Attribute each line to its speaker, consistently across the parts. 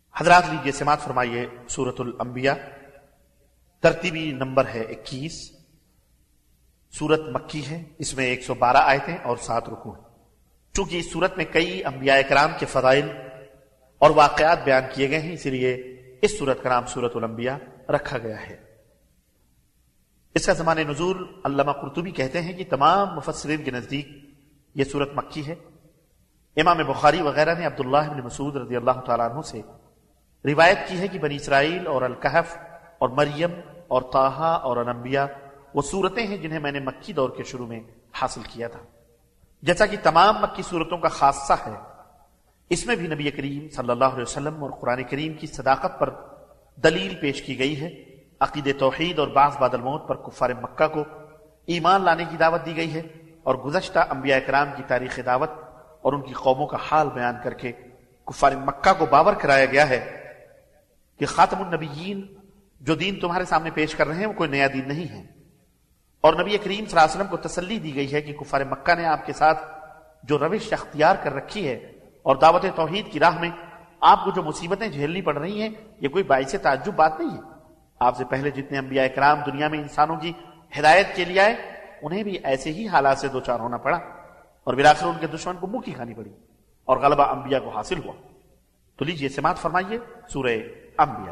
Speaker 1: حضرات لیجیے سماعت فرمائیے سورۃ الانبیاء، ترتیبی نمبر ہے 21۔ سورت مکی ہے، اس میں 112 آیتیں اور 7 رکوع ہیں۔ چونکہ اس سورت میں کئی انبیاء کرام کے فضائل اور واقعات بیان کیے گئے ہیں، اسی لیے اس سورت کا نام سورۃ الانبیاء رکھا گیا ہے۔ اس کا زمان نزول علامہ قرطبی کہتے ہیں کہ تمام مفسرین کے نزدیک یہ سورت مکی ہے۔ امام بخاری وغیرہ نے عبداللہ بن مسعود رضی اللہ تعالیٰ عنہ سے روایت کی ہے کہ بنی اسرائیل اور الکہف اور مریم اور طٰہٰ اور الانبیاء وہ صورتیں ہیں جنہیں میں نے مکی دور کے شروع میں حاصل کیا تھا۔ جیسا کہ تمام مکی صورتوں کا خاصہ ہے، اس میں بھی نبی کریم صلی اللہ علیہ وسلم اور قرآن کریم کی صداقت پر دلیل پیش کی گئی ہے۔ عقید توحید اور بعث بعد الموت پر کفار مکہ کو ایمان لانے کی دعوت دی گئی ہے، اور گزشتہ انبیاء کرام کی تاریخ دعوت اور ان کی قوموں کا حال بیان کر کے کفار مکہ کو باور کرایا گیا ہے کہ خاتم النبیین جو دین تمہارے سامنے پیش کر رہے ہیں وہ کوئی نیا دین نہیں ہے۔ اور نبی کریم صلی اللہ علیہ وسلم کو تسلی دی گئی ہے کہ کفار مکہ نے آپ کے ساتھ جو روش اختیار کر رکھی ہے اور دعوت توحید کی راہ میں آپ کو جو مصیبتیں جھیلنی پڑ رہی ہیں، یہ کوئی باعث تعجب بات نہیں ہے۔ آپ سے پہلے جتنے انبیاء کرام دنیا میں انسانوں کی ہدایت کے لیے آئے، انہیں بھی ایسے ہی حالات سے دوچار ہونا پڑا، اور بالآخر ان کے دشمن کو منہ کی کھانی پڑی اور غلبہ انبیاء کو حاصل ہوا۔ تو لیجئے سماعت فرمائیے سورہ انبیاء۔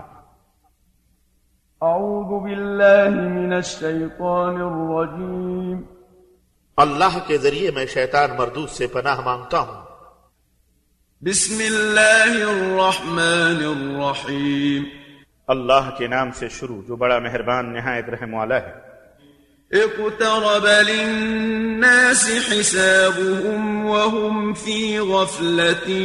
Speaker 2: اعوذ باللہ من الشیطان الرجیم۔
Speaker 1: اللہ کے ذریعے میں شیطان مردود سے پناہ مانگتا ہوں۔
Speaker 2: بسم اللہ الرحمن الرحیم۔
Speaker 1: اللہ کے نام سے شروع جو بڑا مہربان نہایت رحم والا ہے۔
Speaker 2: اقترب للناس حسابهم وهم في غفلة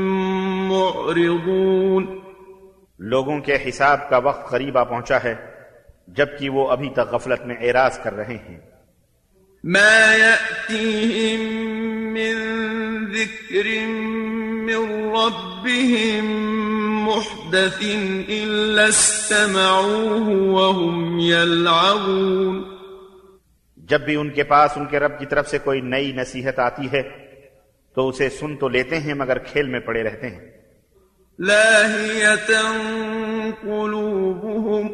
Speaker 2: معرضون۔
Speaker 1: لوگوں کے حساب کا وقت قریب آ پہنچا ہے جبکہ وہ ابھی تک غفلت میں اعراض کر رہے ہیں۔
Speaker 2: ما يأتيهم من ذكر من ربهم محدث إلا استمعوه وهم يلعبون۔
Speaker 1: جب بھی ان کے پاس ان کے رب کی طرف سے کوئی نئی نصیحت آتی ہے تو اسے سن تو لیتے ہیں مگر کھیل میں پڑے رہتے ہیں۔
Speaker 2: لاهية قلوبهم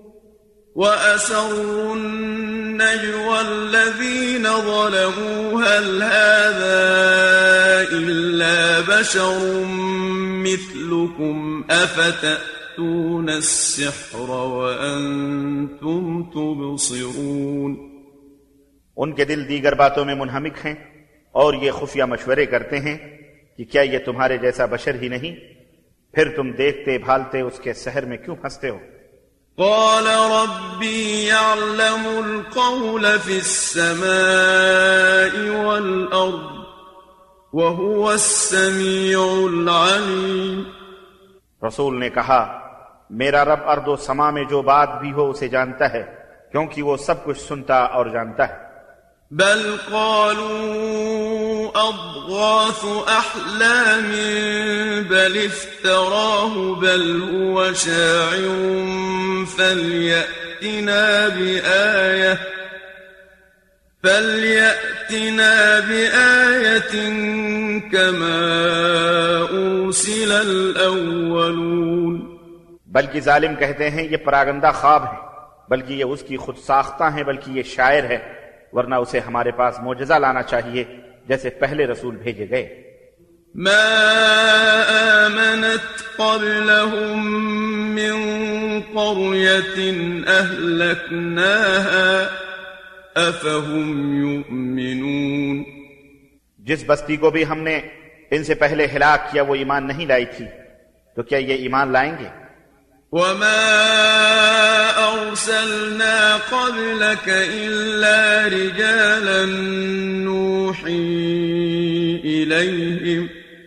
Speaker 2: وأسروا النجوى الذين ظلموا هل هذا إلا بشر مثلكم أفتأتون السحر وأنتم تبصرون۔
Speaker 1: ان کے دل دیگر باتوں میں منہمک ہیں اور یہ خفیہ مشورے کرتے ہیں کہ کیا یہ تمہارے جیسا بشر ہی نہیں، پھر تم دیکھتے بھالتے اس کے سحر میں کیوں ہنستے ہو؟
Speaker 2: قال ربي يعلم القول في السماء والأرض وهو السميع العليم۔
Speaker 1: رسول نے کہا میرا رب ارض و سما میں جو بات بھی ہو اسے جانتا ہے، کیونکہ وہ سب کچھ سنتا اور جانتا ہے۔
Speaker 2: بل قالوا أضغاث أحلام بل افتراه بل هو شاعر فليأتنا بآية كما أرسل الأولون۔
Speaker 1: بلکہ ظالم کہتے ہیں یہ پراگندہ خواب ہے، بلکہ یہ اس کی خود ساختہ ہیں، بلکہ یہ شاعر ہے، ورنہ اسے ہمارے پاس معجزہ لانا چاہیے جیسے پہلے رسول بھیجے گئے۔
Speaker 2: ما آمنت قبلهم من قرية أهلكناها أفهم يؤمنون۔
Speaker 1: جس بستی کو بھی ہم نے ان سے پہلے ہلاک کیا وہ ایمان نہیں لائی تھی، تو کیا یہ ایمان لائیں گے؟
Speaker 2: وما أرسلنا قبلك إلا رجالا نوحي إليهم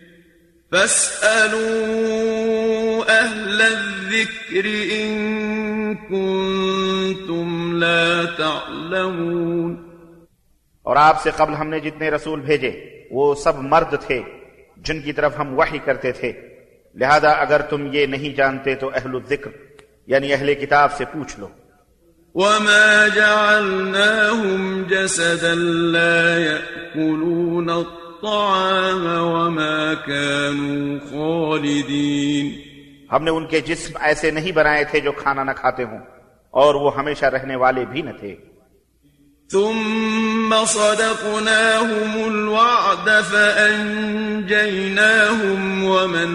Speaker 2: فاسألوا أهل الذكر إن كنتم لا تعلمون۔
Speaker 1: اور آپ سے قبل ہم نے جتنے رسول بھیجے وہ سب مرد تھے جن کی طرف ہم وحی کرتے تھے، لہذا اگر تم یہ نہیں جانتے تو اہل الذکر یعنی اہل کتاب سے پوچھ لو۔
Speaker 2: وما جعلناهم جسدا لا يأكلون الطعام وما كانوا خالدين۔
Speaker 1: ہم نے ان کے جسم ایسے نہیں بنائے تھے جو کھانا نہ کھاتے ہوں، اور وہ ہمیشہ رہنے والے بھی نہ تھے۔
Speaker 2: ثم صدقناهم الوعد فأنجيناهم ومن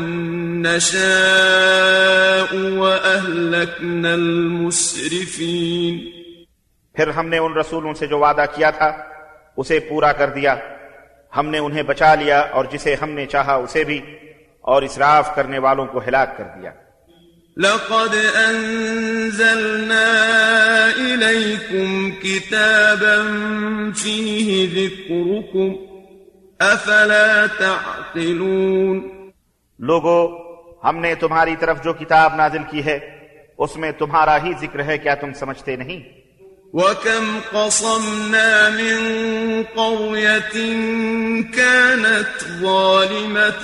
Speaker 2: نشاء وأهلكنا المسرفين۔
Speaker 1: پھر ہم نے ان رسولوں سے جو وعدہ کیا تھا اسے پورا کر دیا، ہم نے انہیں بچا لیا اور جسے ہم نے چاہا اسے بھی، اور اسراف کرنے والوں کو ہلاک کر دیا۔
Speaker 2: لقد أنزلنا إليكم كتابا فيه ذكركم أفلا تعقلون۔
Speaker 1: لوگو، ہم نے تمہاری طرف جو کتاب نازل کی ہے اس میں تمہارا ہی ذکر ہے، کیا تم سمجھتے نہیں؟
Speaker 2: وَكَمْ قَصَمْنَا مِنْ قَرْيَةٍ كَانَتْ ظَالِمَةً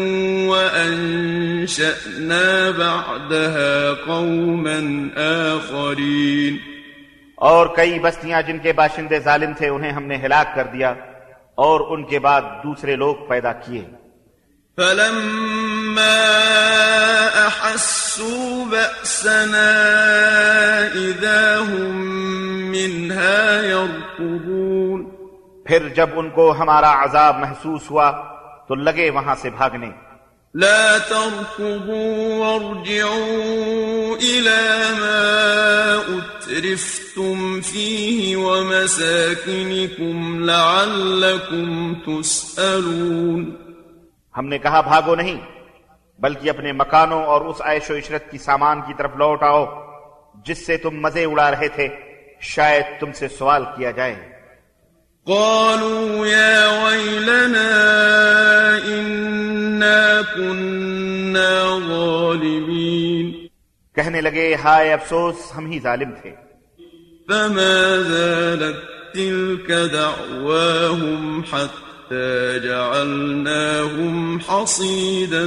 Speaker 2: وَأَنشَأْنَا بَعْدَهَا قَوْمًا آخَرِينَ۔
Speaker 1: اور کئی بستیاں جن کے باشندے ظالم تھے انہیں ہم نے ہلاک کر دیا اور ان کے بعد دوسرے لوگ پیدا کیے۔
Speaker 2: فَلَمَّا أَحَسُّوا بَأْسَنَا إِذَا هُمْ مِنْهَا يَرْكُضُونَ۔
Speaker 1: پھر جب ان کو ہمارا عذاب محسوس ہوا تو لگے وہاں سے بھاگنے۔
Speaker 2: لا تركضوا وارجعوا إلى ما أترفتم فيه ومساكنكم لعلكم تسألون۔
Speaker 1: ہم نے کہا بھاگو نہیں، بلکہ اپنے مکانوں اور اس عیش و عشرت کی سامان کی طرف لوٹ آؤ جس سے تم مزے اڑا رہے تھے، شاید تم سے سوال کیا جائے۔
Speaker 2: قالوا يا ويلنا إنا كنا ظالمين۔
Speaker 1: کہنے لگے ہائے افسوس، ہم ہی ظالم تھے۔
Speaker 2: فما زالت تلك دعواهم حتى جعلناهم حصيدا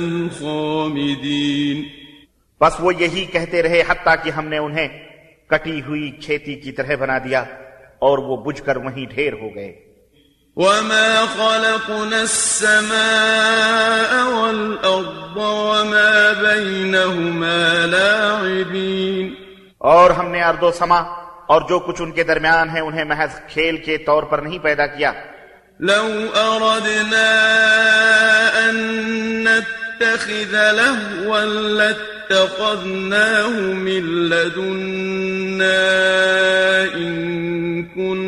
Speaker 2: خامدين۔
Speaker 1: بس وہ یہی کہتے رہے حتیٰ کہ ہم نے انہیں کٹی ہوئی کھیتی کی طرح بنا دیا اور وہ بجھ کر وہیں ڈھیر ہو گئے۔
Speaker 2: وما خلقنا السماء والأرض وما بينهما لاعبين۔
Speaker 1: اور ہم نے ارض و سما اور جو کچھ ان کے درمیان ہے انہیں محض کھیل کے طور پر نہیں پیدا کیا۔
Speaker 2: لو أردنا أن نتخذ لهوا لاتخذناه من لدنا إن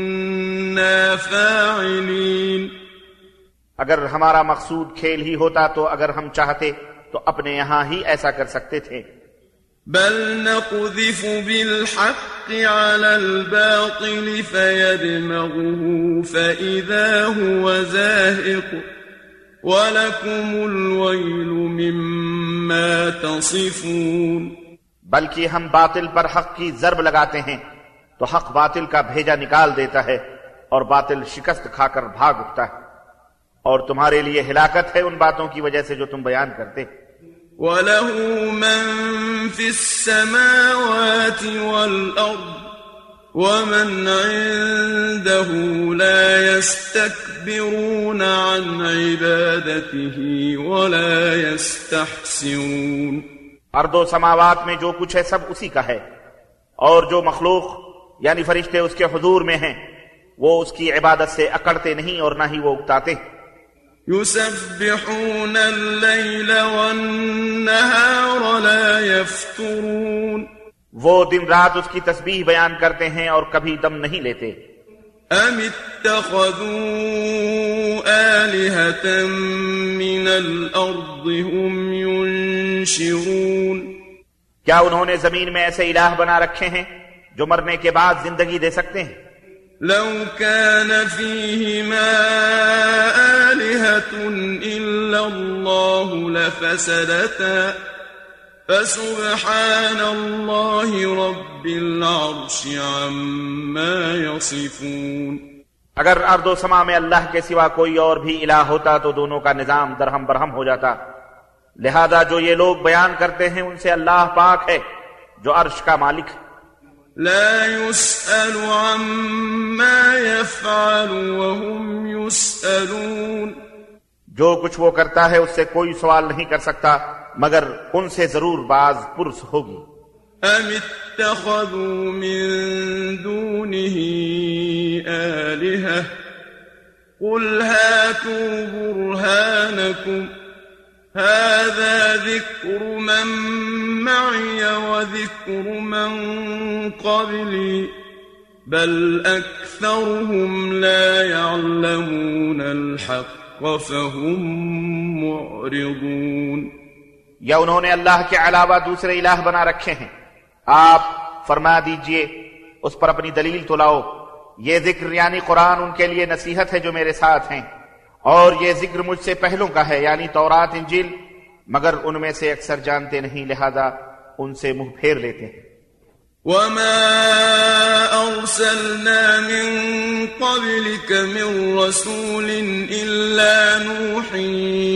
Speaker 2: كنا فاعلين۔
Speaker 1: اگر ہمارا مقصود کھیل ہی ہوتا تو اگر ہم چاہتے تو اپنے یہاں ہی ایسا کر سکتے تھے۔
Speaker 2: بل نقذف بالحق على الباطل فيدمغه فإذا هو زاهق وَلَكُمُ الْوَيْلُ مِمَّا تَصِفُونَ۔
Speaker 1: بلکہ ہم باطل پر حق کی ضرب لگاتے ہیں تو حق باطل کا بھیجا نکال دیتا ہے اور باطل شکست کھا کر بھاگ اٹھتا ہے، اور تمہارے لیے ہلاکت ہے ان باتوں کی وجہ سے جو تم بیان کرتے۔
Speaker 2: وَلَهُ مَن فِي السَّمَاوَاتِ وَالْأَرْضِ وَمَنْ عِندَهُ لَا يَسْتَكْبِرُونَ عَنْ عِبَادَتِهِ وَلَا يَسْتَحْسِرُونَ۔
Speaker 1: ارض و سماوات میں جو کچھ ہے سب اسی کا ہے، اور جو مخلوق یعنی فرشتے اس کے حضور میں ہیں وہ اس کی عبادت سے اکڑتے نہیں اور نہ ہی وہ اکتاتے۔
Speaker 2: يُسَبِّحُونَ اللَّيْلَ وَالنَّهَارَ لَا يَفْتُرُونَ۔
Speaker 1: وہ دن رات اس کی تسبیح بیان کرتے ہیں اور کبھی دم نہیں لیتے۔
Speaker 2: أَمِ اتَّخَذُوا آلِهَةً مِّنَ الْأَرْضِ هُمْ يُنشِرُونَ۔
Speaker 1: کیا انہوں نے زمین میں ایسے الہ بنا رکھے ہیں جو مرنے کے بعد زندگی دے سکتے ہیں؟
Speaker 2: لو كان فيهما آلهة إلا الله لفسدتا فسبحان الله رب العرش عما يصفون۔
Speaker 1: اگر ارض و سما میں اللہ کے سوا کوئی اور بھی الہ ہوتا تو دونوں کا نظام درہم برہم ہو جاتا، لہذا جو یہ لوگ بیان کرتے ہیں ان سے اللہ پاک ہے جو عرش کا مالک ہے۔
Speaker 2: لا يسأل عما يفعل وهم يسألون۔
Speaker 1: جو کچھ وہ کرتا ہے اس سے کوئی سوال نہیں کر سکتا مگر ان سے ضرور بعض پرس ہوگی.
Speaker 2: ام اتخذوا من دونه آلهة قل هاتوا برهانكم هذا ذكر من معي وذكر من قبلي بل أكثرهم لا يعلمون الحق فهم معرضون.
Speaker 1: یا انہوں نے اللہ کے علاوہ دوسرے الہ بنا رکھے ہیں. آپ فرما دیجئے اس پر اپنی دلیل تو لاؤ. یہ ذکر یعنی قرآن ان کے لیے نصیحت ہے جو میرے ساتھ ہیں، اور یہ ذکر مجھ سے پہلوں کا ہے یعنی تورات انجیل، مگر ان میں سے اکثر جانتے نہیں، لہذا ان سے منہ پھیر لیتے ہیں.
Speaker 2: وما أرسلنا من قبلك من رسول إلا نوحي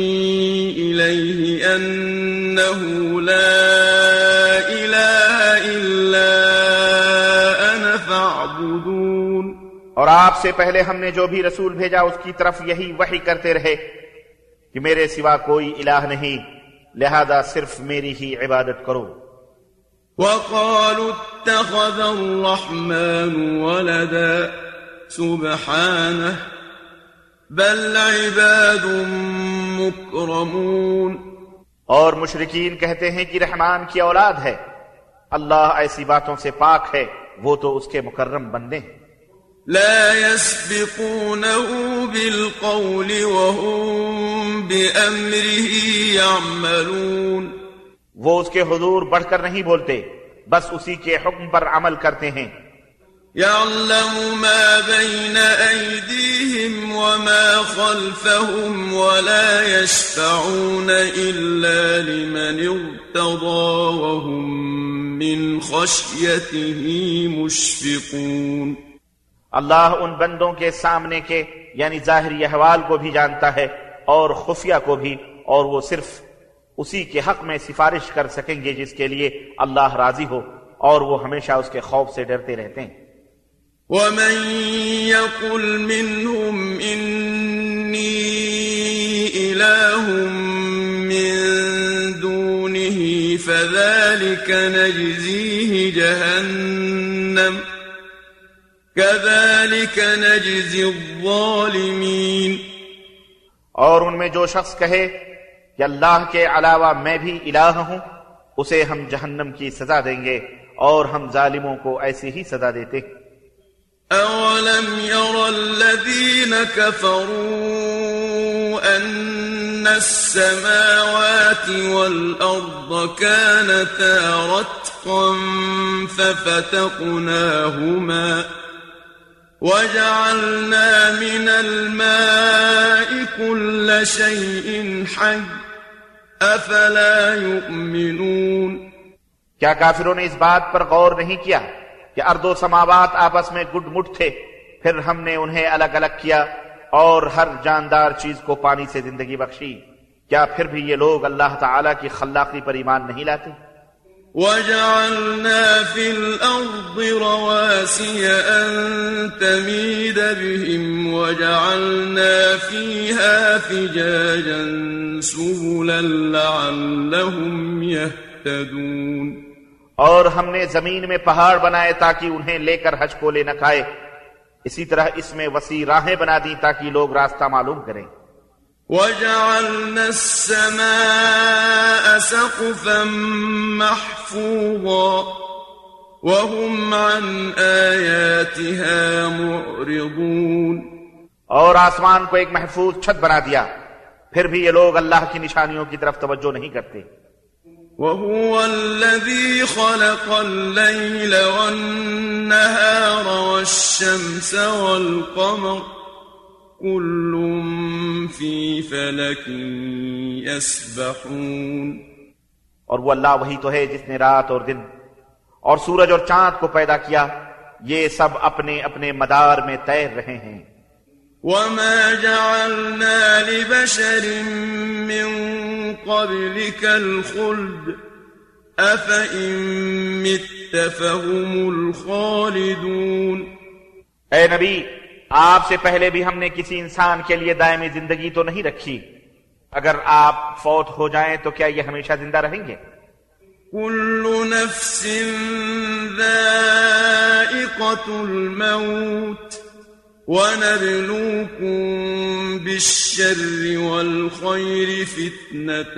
Speaker 2: إليه أنه لا إله إلا أنا فاعبدون.
Speaker 1: اور آپ سے پہلے ہم نے جو بھی رسول بھیجا اس کی طرف یہی وحی کرتے رہے کہ میرے سوا کوئی الہ نہیں، لہذا صرف میری ہی عبادت کرو.
Speaker 2: وقالوا اتخذ الرحمن ولدا سبحانه بل عباد مكرمون.
Speaker 1: اور مشرکین کہتے ہیں کہ رحمان کی اولاد ہے. اللہ ایسی باتوں سے پاک ہے، وہ تو اس کے مکرم بندے ہیں.
Speaker 2: لا يسبقونه بالقول وهم بأمره يعملون.
Speaker 1: وہ اس کے حضور بڑھ کر نہیں بولتے، بس اسی کے حکم پر عمل کرتے ہیں.
Speaker 2: يعلم ما بين أيديهم وما خلفهم ولا يشفعون إلا لمن ارتضى وهم من خشيته مشفقون.
Speaker 1: اللہ ان بندوں کے سامنے کے یعنی ظاہری احوال کو بھی جانتا ہے اور خفیہ کو بھی، اور وہ صرف اسی کے حق میں سفارش کر سکیں گے جس کے لیے اللہ راضی ہو، اور وہ ہمیشہ اس کے خوف سے ڈرتے رہتے ہیں.
Speaker 2: وَمَن يَقُلْ مِنْهُمْ إِنِّي إِلَٰهٌ مِّن دُونِهِ فَذَلِكَ نَجْزِيهِ جَهَنَّمَ كَذَلِكَ نَجْزِي الظَّالِمِينَ.
Speaker 1: اور ان میں جو شخص کہے کہ اللہ کے علاوہ میں بھی الہ ہوں، اسے ہم جہنم کی سزا دیں گے، اور ہم ظالموں کو ایسی ہی سزا دیتے ہیں.
Speaker 2: أَوَلَمْ يَرَ الَّذِينَ كَفَرُوا أَنَّ السَّمَاوَاتِ وَالْأَرْضَ كَانَتَا رَتْقًا فَفَتَقْنَاهُمَا وَجَعَلْنَا مِنَ الْمَاءِ كُلَّ شَيْءٍ حَيٍّ أَفَلَا يُؤْمِنُونَ.
Speaker 1: کیا کافروں نے اس بات پر غور نہیں کیا کہ ارض و سماوات آپس میں گڈ مٹ تھے، پھر ہم نے انہیں الگ الگ کیا اور ہر جاندار چیز کو پانی سے زندگی بخشی؟ کیا پھر بھی یہ لوگ اللہ تعالیٰ کی خلاقی پر ایمان نہیں لاتے؟
Speaker 2: وَجَعَلْنَا فِي الْأَرْضِ رَوَاسِيَ أَن تَمِيدَ بِهِمْ وَجَعَلْنَا فِيهَا فِجَاجًا سُبُلًا لَعَلَّهُمْ يَهْتَدُونَ.
Speaker 1: اور ہم نے زمین میں پہاڑ بنائے تاکہ انہیں لے کر حج کو لے نہ کھائے، اسی طرح اس میں وسیع راہیں بنا دی تاکہ لوگ راستہ معلوم کریں.
Speaker 2: وَجَعَلْنَا السَّمَاءَ سَقْفًا مَحْفُوظًا وَهُمْ عَنْ آيَاتِهَا مُعْرِضُونَ.
Speaker 1: اور آسمان کو ایک محفوظ چھت بنا دیا، پھر بھی یہ لوگ اللہ کی نشانیوں کی طرف توجہ نہیں کرتے.
Speaker 2: وَهُوَ الَّذِي خَلَقَ اللَّيْلَ وَالنَّهَارَ وَالشَّمْسَ وَالْقَمَرَ كُلٌّ فِي فَلَكٍ يَسْبَحُونَ.
Speaker 1: اور وہ اللہ وہی تو ہے جس نے رات اور دن اور سورج اور چاند کو پیدا کیا، یہ سب اپنے اپنے مدار میں تیر رہے ہیں.
Speaker 2: وَمَا جَعَلْنَا لِبَشَرٍ مِّن قَبْلِكَ الْخُلْدَ أَفَإِن مِّتَّ فَهُمُ الْخَالِدُونَ.
Speaker 1: اے نبی، آپ سے پہلے بھی ہم نے کسی انسان کے لیے دائمی زندگی تو نہیں رکھی، اگر آپ فوت ہو جائیں تو کیا یہ ہمیشہ زندہ رہیں گے؟
Speaker 2: كل نفس ذائقة الموت ونبلوكم بالشر والخير فتنة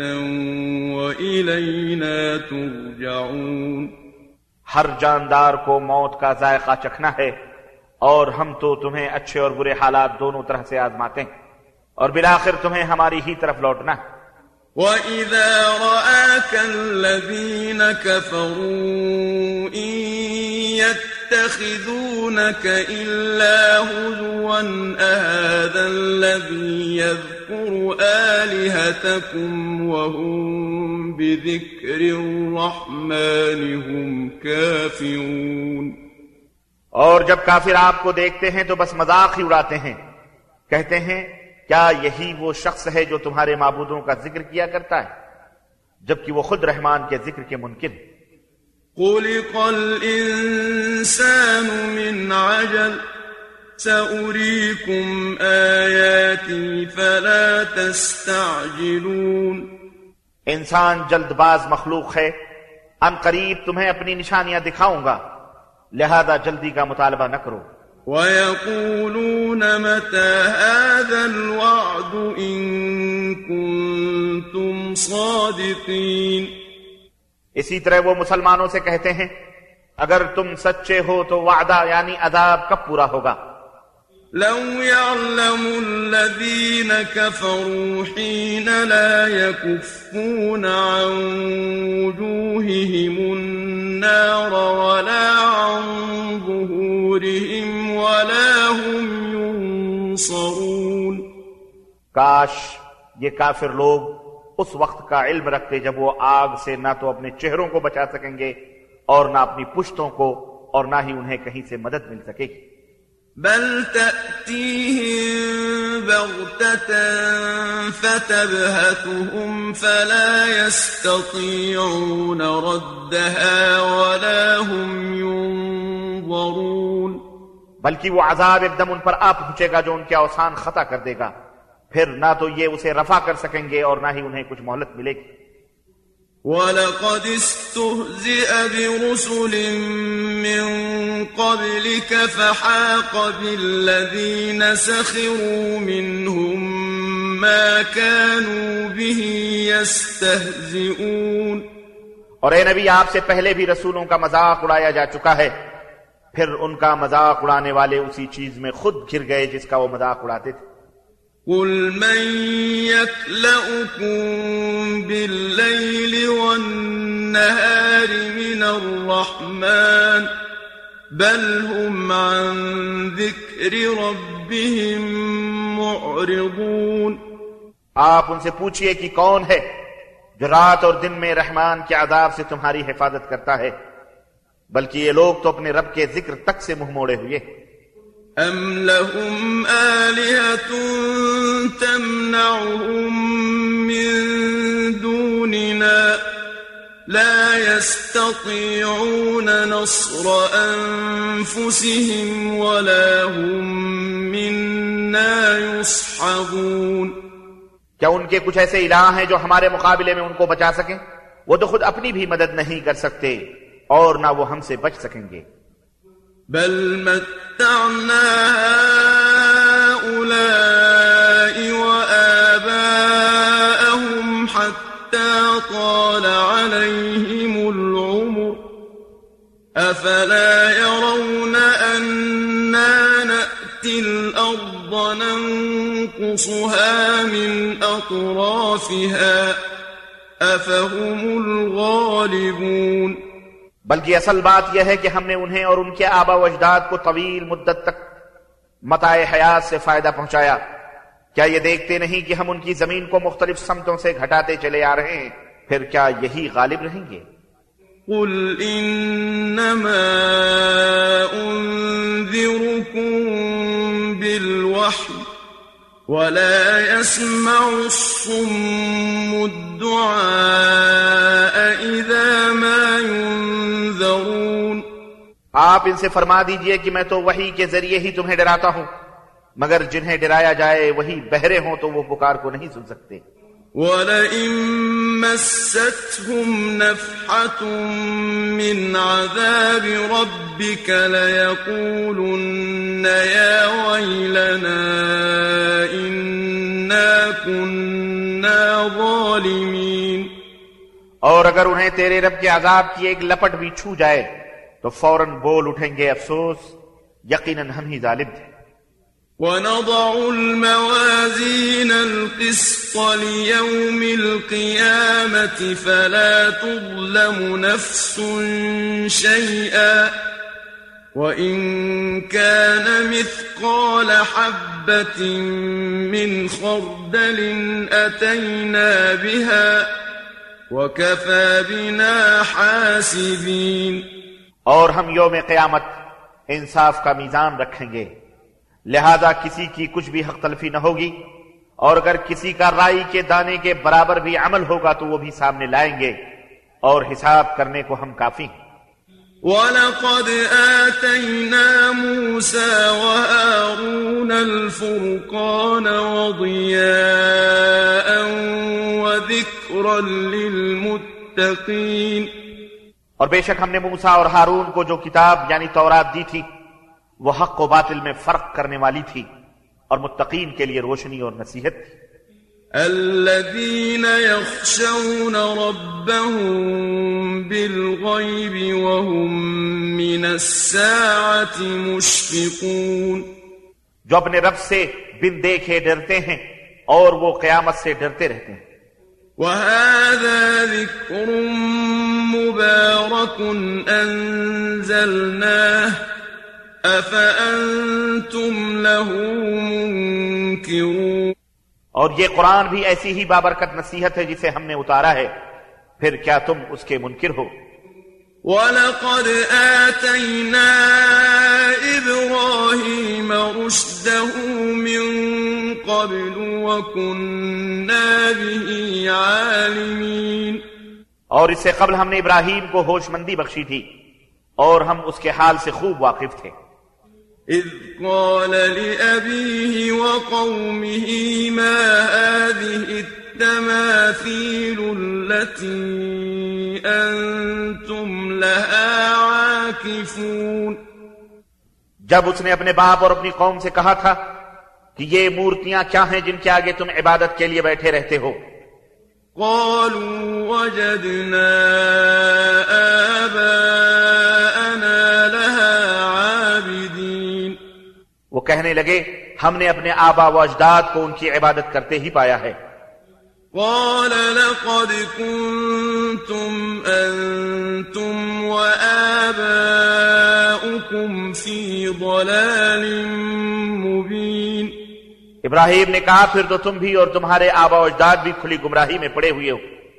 Speaker 2: وإلينا ترجعون.
Speaker 1: ہر جاندار کو موت کا ذائقہ چکھنا ہے، اور ہم تو تمہیں اچھے اور برے حالات دونوں طرح سے آزماتے ہیں، اور بالآخر تمہیں ہماری ہی طرف لوٹنا ہے.
Speaker 2: وَإِذَا رَآكَ الَّذِينَ كَفَرُوا إِن يَتَّخِذُونَكَ إِلَّا هُزُوًا أَهَذَا الَّذِي يَذْكُرُ آلِهَتَكُمْ وَهُمْ بِذِكْرِ الرَّحْمَنِ هُمْ كَافِرُونَ.
Speaker 1: اور جب کافر آپ کو دیکھتے ہیں تو بس مذاق ہی اڑاتے ہیں، کہتے ہیں کیا یہی وہ شخص ہے جو تمہارے معبودوں کا ذکر کیا کرتا ہے، جبکہ وہ خود رحمان کے ذکر کے منکر.
Speaker 2: خلق الإنسان من عجل سأريكم آياتي فلا تستعجلون.
Speaker 1: انسان جلد باز مخلوق ہے، ان قریب تمہیں اپنی نشانیاں دکھاؤں گا، لہذا جلدی کا مطالبہ نہ کرو.
Speaker 2: وَيَقُولُونَ مَتَى هَذَا الْوَعْدُ إِن كُنتُمْ صَادِقِينَ.
Speaker 1: اسی طرح وہ مسلمانوں سے کہتے ہیں اگر تم سچے ہو تو وعدہ یعنی عذاب کب پورا ہوگا؟
Speaker 2: لو يعلم الذين كفروا حين لا يكفون عن وجوههم النار ولا عن ظهورهم ولا هم ينصرون.
Speaker 1: کاش یہ کافر لوگ اس وقت کا علم رکھتے جب وہ آگ سے نہ تو اپنے چہروں کو بچا سکیں گے اور نہ اپنی پشتوں کو، اور نہ ہی انہیں کہیں سے مدد مل سکے گی.
Speaker 2: بل تأتيهم بغتة فتبهتهم فلا يستطيعون ردها ولا هم ينظرون.
Speaker 1: بلکہ وہ عذاب ایک دم ان پر آ پہنچے گا جو ان کے اوسان خطا کر دے گا، پھر نہ تو یہ اسے رفع کر سکیں گے اور نہ ہی انہیں کچھ مہلت ملے گی.
Speaker 2: وَلَقَدِ اسْتُهْزِئَ بِرُسُلٍ مِّن قَبْلِكَ فَحَاقَ بِالَّذِينَ سَخِرُوا مِنْهُم مَّا كَانُوا بِهِ يَسْتَهْزِئُونَ.
Speaker 1: اور اے نبی آپ سے پہلے بھی رسولوں کا مذاق اڑایا جا چکا ہے، پھر ان کا مذاق اڑانے والے اسی چیز میں خود گر گئے جس کا وہ مذاق اڑاتے تھے.
Speaker 2: قُلْ مَن يَكْلَؤُكُم بِاللَّيْلِ وَالنَّهَارِ مِنَ الرَّحْمَنِ بَلْ هُمْ عَن ذِكْرِ رَبِّهِم مُّعْرِضُونَ.
Speaker 1: آپ ان سے پوچھئے کہ کون ہے جو رات اور دن میں رحمان کے عذاب سے تمہاری حفاظت کرتا ہے، بلکہ یہ لوگ تو اپنے رب کے ذکر تک سے منہ موڑے ہوئے.
Speaker 2: أَمْ لَهُمْ آلِهَةٌ تَمْنَعُهُم مِّن دُونِنَا لَا يَسْتَطِيعُونَ نَصْرَ أَنفُسِهِمْ وَلَا هُم مِّنَّا يُصْحَبُونَ.
Speaker 1: کیا ان کے کچھ ایسے الہ ہیں جو ہمارے مقابلے میں ان کو بچا سکیں؟ وہ تو خود اپنی بھی مدد نہیں کر سکتے اور نہ وہ ہم سے بچ سکیں گے.
Speaker 2: بل متعنا هؤلاء وآباءهم حتى طال عليهم العمر أفلا يرون أنا نأتي الأرض ننقصها من أطرافها أفهم الغالبون.
Speaker 1: بلکہ اصل بات یہ ہے کہ ہم نے انہیں اور ان کے آبا و اجداد کو طویل مدت تک متاع حیات سے فائدہ پہنچایا، کیا یہ دیکھتے نہیں کہ ہم ان کی زمین کو مختلف سمتوں سے گھٹاتے چلے آ رہے ہیں؟ پھر کیا یہی غالب رہیں گے؟
Speaker 2: قل انما انذركم بالوحي ولا يسمع الصم الدعاء اذا ما ينذرون.
Speaker 1: آپ ان سے فرما دیجئے کہ میں تو وحی کے ذریعے ہی تمہیں ڈراتا ہوں، مگر جنہیں ڈرایا جائے وہی بہرے ہوں تو وہ پکار کو نہیں سن سکتے.
Speaker 2: وَلَئِن مَّسَّتْهُمْ نَفْحَةٌ مِّنْ عَذَابِ رَبِّكَ لَيَقُولُنَّ يَا وَيْلَنَا إِنَّا كُنَّا ظَالِمِينَ.
Speaker 1: اور اگر انہیں تیرے رب کے عذاب کی ایک لپٹ بھی چھو جائے تو فوراً بول اٹھیں گے افسوس، یقیناً ہم ہی ظالم تھے.
Speaker 2: وَنَضَعُ الْمَوَازِينَ الْقِسْطَ لِيَوْمِ الْقِيَامَةِ فَلَا تُظْلَمُ نَفْسٌ شَيْئًا وَإِنْ كَانَ مِثْقَالَ حَبَّةٍ مِّنْ خَرْدَلٍ أَتَيْنَا بِهَا وَكَفَى بِنَا حَاسِبِينَ.
Speaker 1: اور ہم یوم قیامت انصاف کا میزان رکھیں گے، لہذا کسی کی کچھ بھی حق تلفی نہ ہوگی، اور اگر کسی کا رائی کے دانے کے برابر بھی عمل ہوگا تو وہ بھی سامنے لائیں گے، اور حساب کرنے کو ہم کافی ہیں.
Speaker 2: وَلَقَدْ آتَيْنَا مُوسَى وَهَارُونَ الْفُرْقَانَ وَضِيَاءً وَذِكْرًا لِلْمُتَّقِينَ.
Speaker 1: اور بے شک ہم نے موسیٰ اور ہارون کو جو کتاب یعنی تورات دی تھی وہ حق و باطل میں فرق کرنے والی تھی اور متقین کے لیے روشنی اور نصیحت تھی.
Speaker 2: الذين يخشون ربهم بالغيب وهم من الساعة مشفقون.
Speaker 1: جو اپنے رب سے بن دیکھے ڈرتے ہیں اور وہ قیامت سے ڈرتے رہتے ہیں.
Speaker 2: وهذا ذكر مبارك أنزلناه أفأنتم له منكرون.
Speaker 1: اور یہ قرآن بھی ایسی ہی بابرکت نصیحت ہے جسے ہم نے اتارا ہے، پھر کیا تم اس کے منکر ہو؟
Speaker 2: وَلَقَدْ آتَيْنَا إِبْرَاهِيمَ رُشْدَهُ مِنْ قَبْلُ وَكُنَّا بِهِ عَالِمِينَ.
Speaker 1: اور اس سے قبل ہم نے ابراہیم کو ہوش مندی بخشی تھی اور ہم اس کے حال سے خوب واقف تھے.
Speaker 2: إِذْ قَالَ لِأَبِيهِ وَقَوْمِهِ مَا هَٰذِهِ التَّمَاثِيلُ الَّتِي أَنْتُمْ لَهَا عَاكِفُونَ.
Speaker 1: جب اس نے اپنے باپ اور اپنی قوم سے کہا تھا کہ یہ مورتیاں کیا ہیں جن کے آگے تم عبادت کے لیے بیٹھے رہتے ہو؟
Speaker 2: قَالُوا وَجَدْنَا آبَاءَنَا لَهَا عَابِدِينَ.
Speaker 1: وہ کہنے لگے ہم نے اپنے آبا و اجداد کو ان کی عبادت کرتے ہی پایا ہے.
Speaker 2: قال لقد كنتم أنتم وآباؤكم في ضلال مبين.
Speaker 1: ابراہیم نے کہا پھر تو تم بھی اور تمہارے آبا و اجداد بھی کھلی گمراہی میں پڑے ہوئے ہو.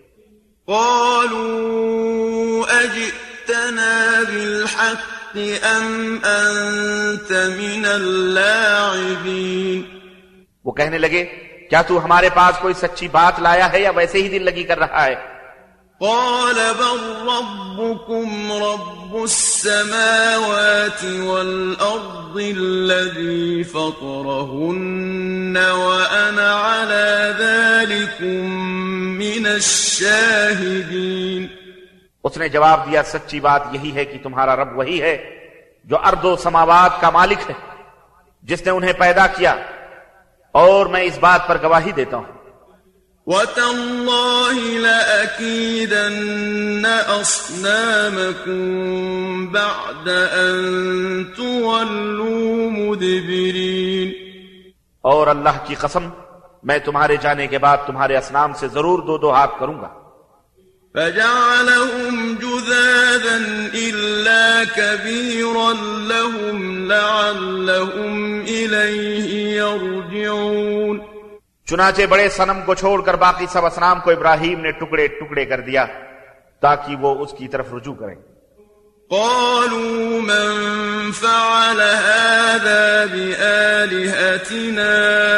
Speaker 2: قالوا أجئتنا بالحق أم أنت من اللاعبين.
Speaker 1: وہ کہنے لگے کیا تو ہمارے پاس کوئی سچی بات لایا ہے یا ویسے ہی دل لگی کر رہا ہے؟
Speaker 2: قال بل ربكم رب السماوات والأرض الذي فطرهن وأنا على ذلكم من الشاهدين.
Speaker 1: اس نے جواب دیا سچی بات یہی ہے کہ تمہارا رب وہی ہے جو ارض و سماوات کا مالک ہے، جس نے انہیں پیدا کیا، اور میں اس بات پر گواہی دیتا ہوں.
Speaker 2: وَتَاللَّهِ لَأَكِيدَنَّ أَصْنَامَكُمْ بَعْدَ أَن تُوَلُّوا مُدْبِرِينَ.
Speaker 1: اور اللہ کی قسم میں تمہارے جانے کے بعد تمہارے اصنام سے ضرور دو ہاتھ کروں گا.
Speaker 2: فَجَعَلَهُمْ جُذَاذًا إِلَّا كَبِيرًا لَهُمْ لَعَلَّهُمْ إِلَيْهِ يَرْجِعُونَ.
Speaker 1: چنانچہ بڑے صنم کو چھوڑ کر باقی سب اصنام کو ابراہیم نے ٹکڑے ٹکڑے کر دیا تاکہ وہ اس کی طرف رجوع کریں.
Speaker 2: قالوا من فعل هذا بآلهتنا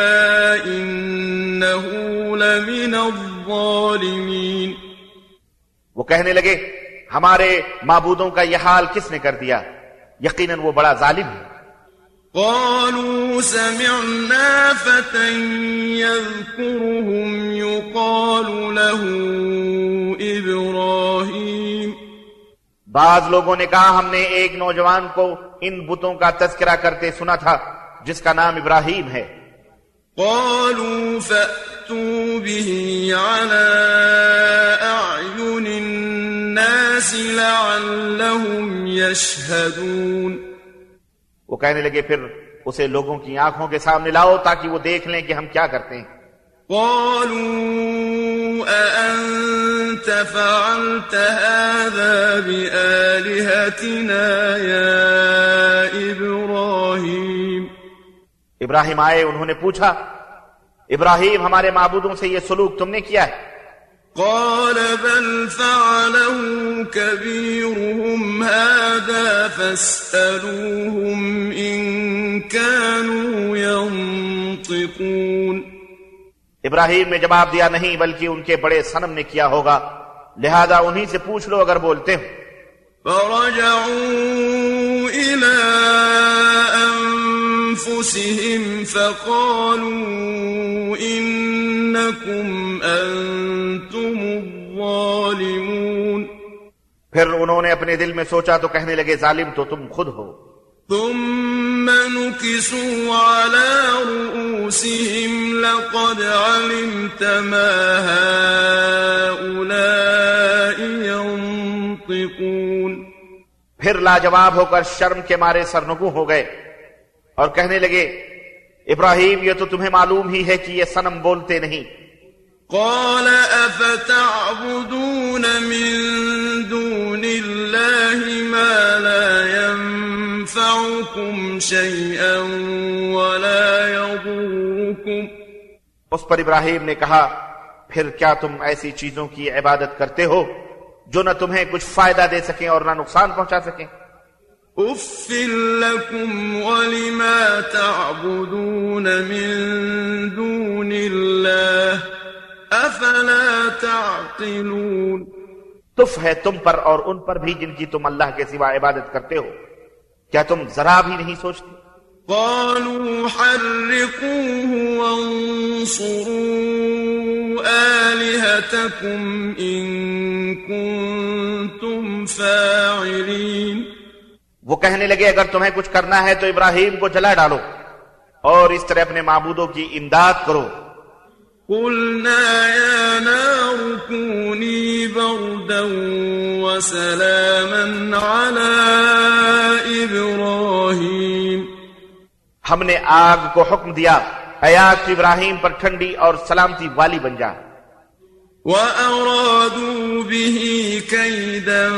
Speaker 2: إنه لمن الظالمين.
Speaker 1: وہ کہنے لگے ہمارے معبودوں کا یہ حال کس نے کر دیا؟ یقیناً وہ بڑا ظالم ہے.
Speaker 2: قالوا سمعنا فتى يذكرهم يقال له إبراهيم.
Speaker 1: بعض لوگوں نے کہا ہم نے ایک نوجوان کو ان بتوں کا تذکرہ کرتے سنا تھا جس کا نام ابراہیم ہے.
Speaker 2: قالوا فأتوا به على أعين الناس لعلهم يشهدون.
Speaker 1: وہ کہنے لگے پھر اسے لوگوں کی آنکھوں کے سامنے لاؤ تاکہ وہ دیکھ لیں کہ ہم کیا کرتے ہیں.
Speaker 2: قالوا أأنت فعلت هذا بآلهتنا يا إبراهيم.
Speaker 1: ابراہیم آئے، انہوں نے پوچھا ابراہیم ہمارے معبودوں سے یہ سلوک تم نے کیا ہے؟
Speaker 2: قال بل فعله كبيرهم هذا فاسألوهم إن كانوا ينطقون.
Speaker 1: ابراہیم نے جواب دیا نہیں بلکہ ان کے بڑے صنم نے کیا ہوگا، لہذا انہی سے پوچھ لو اگر بولتے ہو.
Speaker 2: فرجعوا إلى أنفسهم فقالوا إنكم أنتم الظالمون.
Speaker 1: پھر انہوں نے اپنے دل میں سوچا تو کہنے لگے ظالم تو تم خود ہو.
Speaker 2: ثم نكسوا على رؤوسهم لقد علمت ما هؤلاء ينطقون.
Speaker 1: پھر لاجواب ہو کر شرم کے مارے سرنگوں ہو گئے اور کہنے لگے ابراہیم یہ تو تمہیں معلوم ہی ہے کہ یہ صنم بولتے نہیں.
Speaker 2: قال أفتعبدون من دون الله ما لا ينفعكم شيئا ولا يضركم.
Speaker 1: اس پر ابراہیم نے کہا پھر کیا تم ایسی چیزوں کی عبادت کرتے ہو جو نہ تمہیں کچھ فائدہ دے سکیں اور نہ نقصان پہنچا سکیں.
Speaker 2: اف لكم ولما تعبدون من دون الله افلا تعقلون.
Speaker 1: تف ہے تم پر اور ان پر بھی جن کی تم اللہ کے سوا عبادت کرتے ہو، کیا تم ذرا بھی نہیں سوچتے؟
Speaker 2: قالوا حرقوه وانصروا آلهتكم إن كنتم فاعلين.
Speaker 1: وہ کہنے لگے اگر تمہیں کچھ کرنا ہے تو ابراہیم کو جلا ڈالو اور اس طرح اپنے معبودوں کی امداد کرو.
Speaker 2: قلنا يا نار كوني بردا وسلاما على إبراهيم.
Speaker 1: ہم نے آگ کو حکم دیا اے آگ تو ابراہیم پر ٹھنڈی اور سلامتی والی بن جا.
Speaker 2: وَأَرَادُوا بِهِ كَيْدًا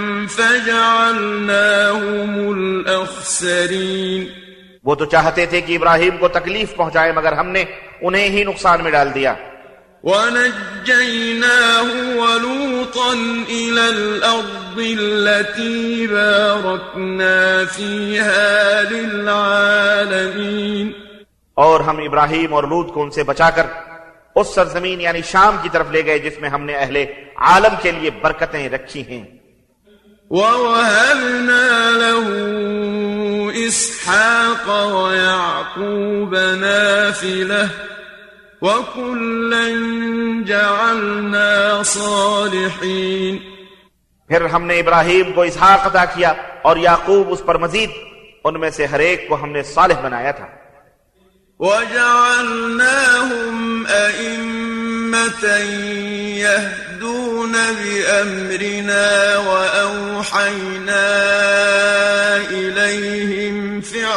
Speaker 2: فَجَعَلْنَاهُمُ الْأَخْسَرِينَ.
Speaker 1: وہ تو چاہتے تھے کہ ابراہیم کو تکلیف پہنچائے مگر ہم نے انہیں ہی نقصان میں ڈال دیا.
Speaker 2: وَنَجَّيْنَاهُ وَلُوطًا إِلَى الْأَرْضِ الَّتِي بَارَكْنَا فِيهَا لِلْعَالَمِينَ.
Speaker 1: اور ہم ابراہیم اور لوط کو ان سے بچا کر اس سرزمین یعنی شام کی طرف لے گئے جس میں ہم نے اہل عالم کے لیے برکتیں رکھی ہیں.
Speaker 2: وَوَهَبْنَا لَهُ إِسْحَاقَ وَيَعْقُوبَ نَافِلَةً وَكُلًّا جَعَلْنَا صَالِحِينَ.
Speaker 1: پھر ہم نے ابراہیم کو اسحاق عطا کیا اور یعقوب اس پر مزید، ان میں سے ہر ایک کو ہم نے صالح بنایا تھا.
Speaker 2: وَجَعَلْنَاهُمْ أَئِمَّةً يَهْدُونَ بِأَمْرِنَا وَأَوْحَيْنَا إِلَيْهِمْ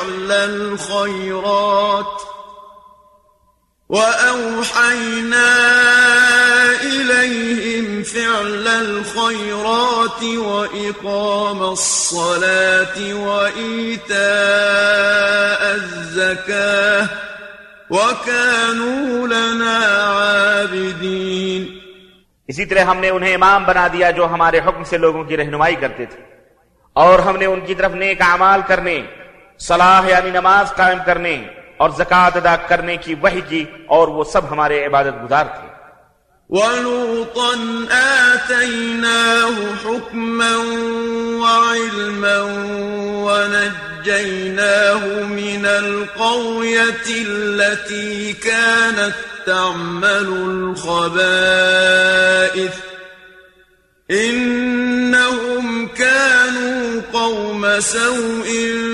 Speaker 2: فِعْلَ الْخَيْرَاتِ وَإِقَامَ الصَّلَاةِ وَإِيتَاءَ الزَّكَاةِ وَكَانُوا لَنَا عَابِدِينَ.
Speaker 1: اسی طرح ہم نے انہیں امام بنا دیا جو ہمارے حکم سے لوگوں کی رہنمائی کرتے تھے، اور ہم نے ان کی طرف نیک اعمال کرنے، صلاح یعنی نماز قائم کرنے اور زکوٰۃ ادا کرنے کی وحی کی، اور وہ سب ہمارے عبادت گزار تھے.
Speaker 2: وَلُوطًا آتَيْنَاهُ حُكْمًا وَعِلْمًا فنجيناه من القرية التي كانت تعمل الخبائث إنهم كانوا قوم سوء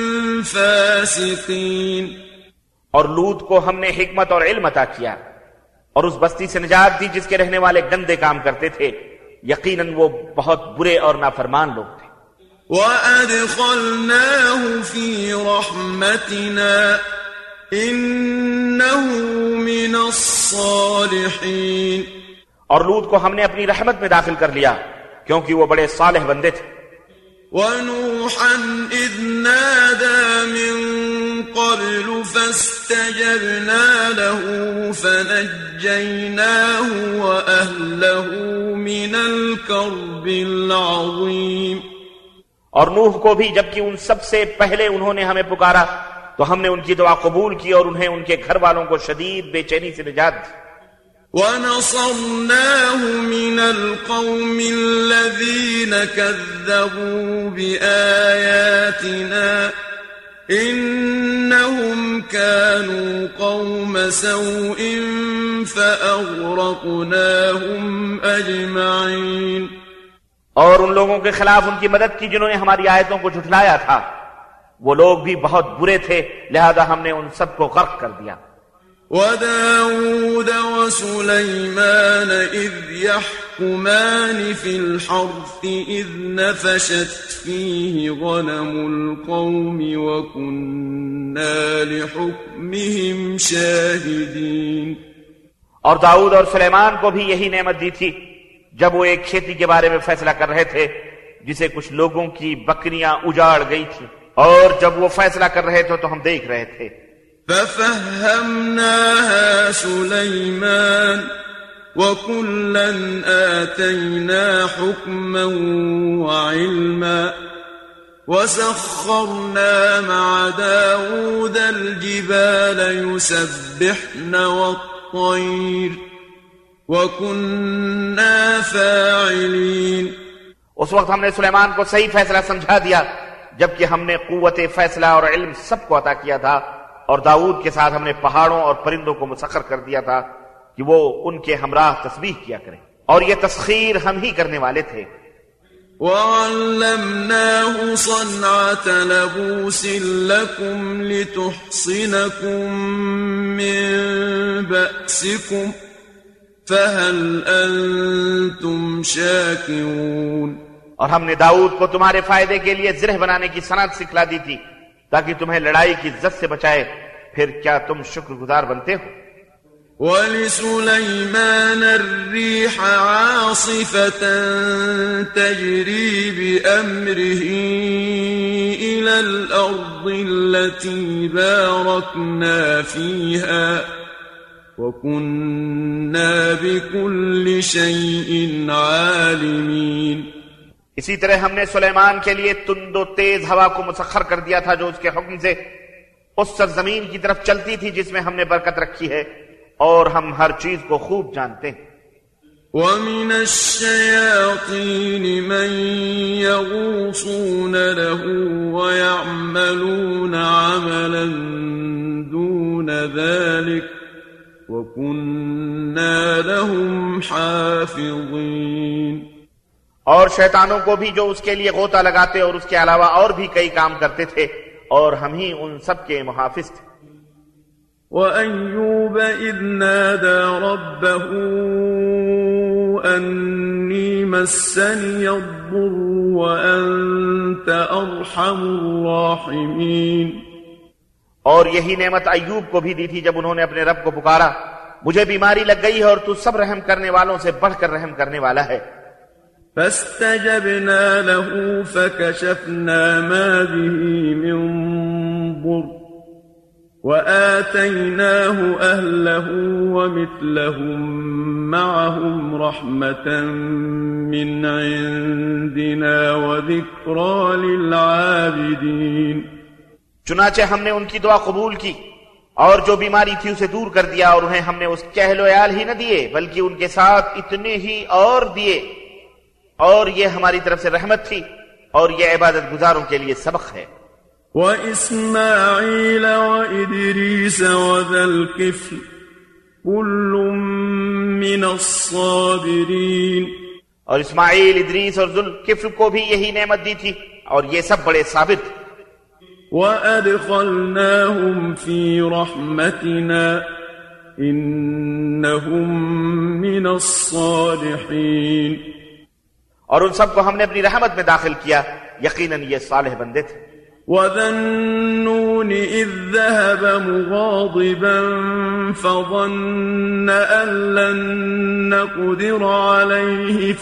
Speaker 2: فاسقين.
Speaker 3: اور لوط کو ہم نے حکمت اور علم عطا کیا اور اس بستی سے نجات دی جس کے رہنے والے گندے کام کرتے تھے، یقیناً وہ بہت برے اور نافرمان لوگ تھے.
Speaker 2: وَأَدْخَلْنَاهُ فِي رَحْمَتِنَا إِنَّهُ مِنَ الصَّالِحِينَ.
Speaker 3: اور لوط کو ہم نے اپنی رحمت میں داخل کر لیا کیونکہ وہ بڑے صالح بندے تھے.
Speaker 2: وَنُوحًا إِذْ نَادَى مِن قَبْلُ فَاسْتَجَبْنَا لَهُ فَنَجَّيْنَاهُ وَأَهْلَهُ مِنَ الْكَرْبِ الْعَظِيمِ.
Speaker 3: اور نوح کو بھی جبکہ ان سب سے پہلے انہوں نے ہمیں پکارا تو ہم نے ان کی دعا قبول کی اور انہیں ان کے گھر والوں کو شدید بے چینی سے نجات دی.
Speaker 2: وَنَصَرْنَاهُ مِنَ الْقَوْمِ الَّذِينَ كَذَّبُوا بِآيَاتِنَا إِنَّهُمْ كَانُوا قَوْمَ سَوْءٍ فَأَغْرَقْنَاهُمْ أَجْمَعِينَ.
Speaker 3: اور ان لوگوں کے خلاف ان کی مدد کی جنہوں نے ہماری آیتوں کو جھٹلایا تھا، وہ لوگ بھی بہت برے تھے، لہذا ہم نے ان سب کو غرق کر دیا.
Speaker 2: وَدَاوُودَ وَسُلَيْمَانَ إِذْ يَحْكُمَانِ فِي الْحَرْثِ إِذْ نَفَشَتْ فِيهِ غَنَمُ الْقَوْمِ وَكُنَّا لِحُكْمِهِمْ شَاهِدِينَ.
Speaker 3: اور داؤد اور سلیمان کو بھی یہی نعمت دی تھی جب وہ ایک کھیتی کے بارے میں فیصلہ کر رہے تھے جسے کچھ لوگوں کی بکریاں اجاڑ گئی تھی، اور جب وہ فیصلہ کر رہے تھے تو ہم دیکھ رہے تھے.
Speaker 2: فَفَهَّمْنَاهَا سُلَيْمَانَ وَكُلًّا آتَيْنَا حُكْمًا وَعِلْمًا وَسَخَّرْنَا مَعَ دَاوُودَ الْجِبَالَ يُسَبِّحْنَ وَالطَّيْرَ وَكُنَّا فَاعِلِينَ.
Speaker 3: اس وقت ہم نے سلیمان کو صحیح فیصلہ سمجھا دیا جبکہ ہم نے قوت فیصلہ اور علم سب کو عطا کیا تھا، اور داؤد کے ساتھ ہم نے پہاڑوں اور پرندوں کو مسخر کر دیا تھا کہ وہ ان کے ہمراہ تسبیح کیا کریں، اور یہ تسخیر ہم ہی کرنے والے تھے.
Speaker 2: وَعَلَّمْنَاهُ صَنْعَةَ لَبُوسٍ لَكُمْ لِتُحْصِنَكُمْ مِنْ بَأْسِكُمْ فَهَلْ أَنْتُمْ شَاكِرُونَ.
Speaker 3: اور ہم نے داؤد کو تمہارے فائدے کے لیے زرہ بنانے کی صنعت سکھلا دی تھی تاکہ تمہیں لڑائی کی زد سے بچائے، پھر کیا تم شکر گزار بنتے ہو؟
Speaker 2: وَلِسُلَيْمَانَ الرِّيحَ عَاصِفَةً تَجْرِي بِأَمْرِهِ إِلَى الْأَرْضِ الَّتِي بَارَكْنَا فِيهَا وَكُنَّا بِكُلِّ شَيْءٍ عَالِمِينَ.
Speaker 3: اسی طرح ہم نے سلیمان کے لیے تند و تیز ہوا کو مسخر کر دیا تھا جو اس کے حکم سے اس سرزمین کی طرف چلتی تھی جس میں ہم نے برکت رکھی ہے، اور ہم ہر چیز کو خوب جانتے ہیں.
Speaker 2: وَمِنَ الشَّيَاطِينِ مَن يَغُوصُونَ لَهُ وَيَعْمَلُونَ عَمَلًا دُونَ ذَلِكَ وَكُنَّا لَهُمْ حَافِظِينَ.
Speaker 3: اور شیطانوں کو بھی جو اس کے لیے غوطہ لگاتے اور اس کے علاوہ اور بھی کئی کام کرتے تھے، اور ہم ہی ان سب کے محافظ تھے.
Speaker 2: وَأَيُّوبَ إِذْ نَادَى رَبَّهُ أَنِّي مَسَّنِيَ الضُّرُّ وَأَنْتَ أَرْحَمُ الرَّاحِمِينَ.
Speaker 3: اور یہی نعمت ایوب کو بھی دی تھی جب انہوں نے اپنے رب کو پکارا، مجھے بیماری لگ گئی ہے اور تو سب رحم کرنے والوں سے بڑھ کر رحم کرنے والا ہے.
Speaker 2: فَاسْتَجَبْنَا لَهُ فَكَشَفْنَا مَا بِهِ مِنْ ضُرٍّ وَآتَيْنَاهُ أَهْلَهُ وَمِثْلَهُمْ مَعَهُمْ رَحْمَةً مِّنْ عِنْدِنَا وَذِكْرَى لِلْعَابِدِينَ.
Speaker 3: چنانچہ ہم نے ان کی دعا قبول کی اور جو بیماری تھی اسے دور کر دیا، اور انہیں ہم نے اس کہل و عیال ہی نہ دیے بلکہ ان کے ساتھ اتنے ہی اور دیے، اور یہ ہماری طرف سے رحمت تھی اور یہ عبادت گزاروں کے لیے سبق ہے.
Speaker 2: وإسماعيل وإدريس وذا الكفل كل من الصابرين.
Speaker 3: اور اسماعیل، ادریس اور ذوالکفل کو بھی یہی نعمت دی تھی اور یہ سب بڑے صابر تھے.
Speaker 2: وَأَدْخَلْنَاهُمْ فِي رَحْمَتِنَا إِنَّهُمْ مِنَ الصَّالِحِينَ.
Speaker 3: اور ان سب کو ہم نے اپنی رحمت میں داخل کیا، یقیناً یہ صالح بندے تھے.
Speaker 2: وَذَا النُّونِ إِذ ذَهَبَ مُغَاضِبًا فَظَنَّ أَن لَّن نَّقْدِرَ عَلَيْهِ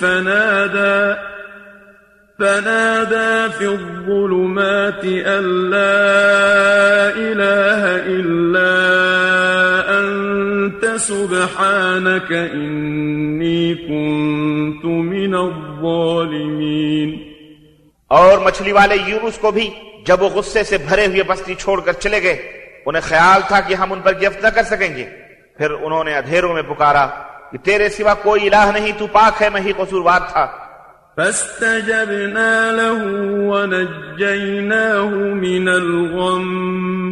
Speaker 2: فنادى في الظلمات أن لا إله إلا أنت سبحانك إني كنت من الظالمين.
Speaker 3: اور مچھلی والے یونس کو بھی جب وہ غصے سے بھرے ہوئے بستی چھوڑ کر چلے گئے، انہیں خیال تھا کہ ہم ان پر گرفت نہ کر سکیں گے. پھر انہوں نے اندھیروں میں پکارا کہ تیرے سوا کوئی الہ نہیں، تو پاک ہے، میں ہی قصوروار تھا.
Speaker 2: فاستجبنا له ونجيناه من الغم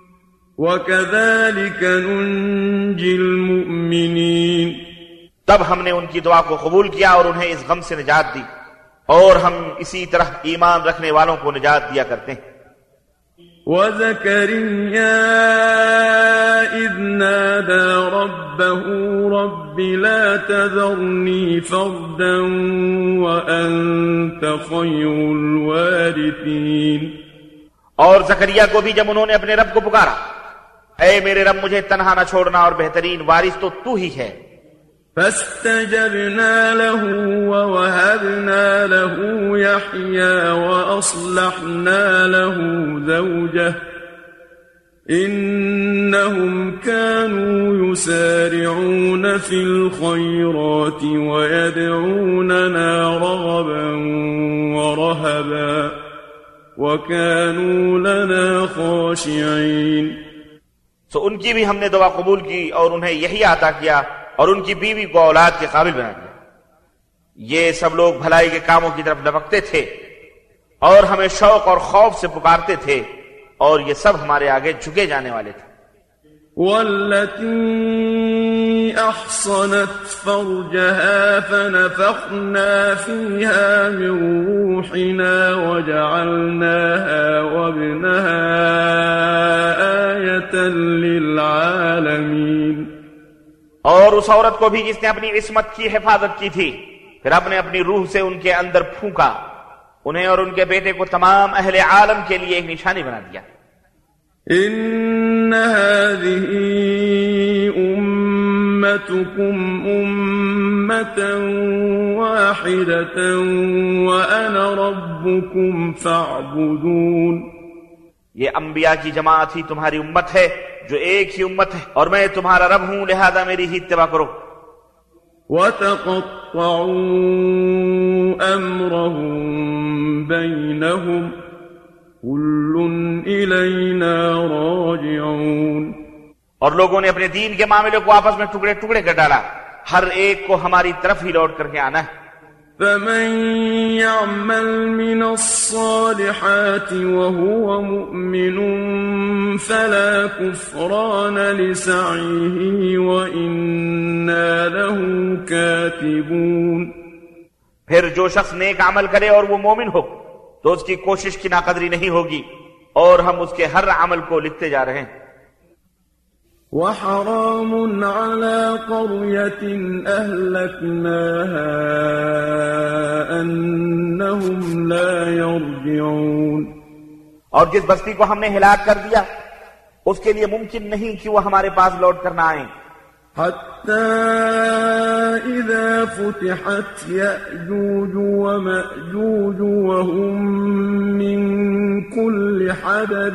Speaker 2: وكذلك ننجي المؤمنين.
Speaker 3: تب ہم نے ان کی دعا کو قبول کیا اور انہیں اس غم سے نجات دی، اور ہم اسی طرح ایمان رکھنے والوں کو نجات دیا کرتے ہیں.
Speaker 2: وَزَكَرِيَّا إِذْ نَادَى رَبَّهُ رَبِّ لَا تَذَرْنِي فَرْدًا وَأَنْتَ خَيْرُ الْوَارِثِينَ.
Speaker 3: اور زکریا کو بھی جب انہوں نے اپنے رب کو پکارا، اے میرے رب مجھے تنہا نہ چھوڑنا اور بہترین وارث تو ہی ہے.
Speaker 2: فاستجبنا له ووهبنا له يحيى وأصلحنا له زوجه إنهم كانوا يسارعون في الخيرات ويدعوننا رغبا ورهبا وكانوا لنا خاشعين.
Speaker 3: سو ان کی بھی ہم نے دعا قبول کی اور انہیں یہی عطا کیا اور ان کی بیوی کو اولاد کے قابل بنا دیا. یہ سب لوگ بھلائی کے کاموں کی طرف لپکتے تھے اور ہمیں شوق اور خوف سے پکارتے تھے، اور یہ سب ہمارے آگے جھکے جانے والے تھے.
Speaker 2: والتي أحصنت فرجها فنفخنا فيها من روحنا وجعلناها وابنها آية للعالمين.
Speaker 3: اور اس عورت کو بھی جس نے اپنی عصمت کی حفاظت کی تھی، پھر ہم نے اپنی روح سے ان کے اندر پھونکا، انہیں اور ان کے بیٹے کو تمام اہل عالم کے لیے ایک نشانی بنا دیا.
Speaker 2: ان هذه امتكم امة واحدة وانا ربكم فاعبدون.
Speaker 3: یہ انبیاء کی جماعت ہی تمہاری امت ہے جو ایک ہی امت ہے، اور میں تمہارا رب ہوں، لہذا میری ہی اتباع کرو.
Speaker 2: وَتَقَطَّعُوا أَمْرَهُمْ بَيْنَهُمْ كُلٌّ إِلَيْنَا رَاجِعُونَ.
Speaker 3: اور لوگوں نے اپنے دین کے معاملے کو آپس میں ٹکڑے ٹکڑے کر ڈالا، ہر ایک کو ہماری طرف ہی لوٹ کر کے آنا ہے.
Speaker 2: فَمَن يَعْمَلْ مِنَ الصَّالِحَاتِ وَهُوَ مُؤْمِنٌ فَلَا كُفْرَانَ لِسَعْيِهِ وَإِنَّا لَهُ كَاتِبُونَ.
Speaker 3: پھر جو شخص نیک عمل کرے اور وہ مومن ہو تو اس کی کوشش کی ناقدری نہیں ہوگی، اور ہم اس کے ہر عمل کو لکھتے جا رہے ہیں.
Speaker 2: وحرام على قرية أهلكناها أنهم لا يرجعون.
Speaker 3: اور جس بستی کو ہم نے ہلاک کر دیا اس کے لیے ممکن نہیں کہ وہ ہمارے پاس لوٹ کر نہ آئیں.
Speaker 2: حتى إذا فتحت يأجوج ومأجوج وهم من كل حدب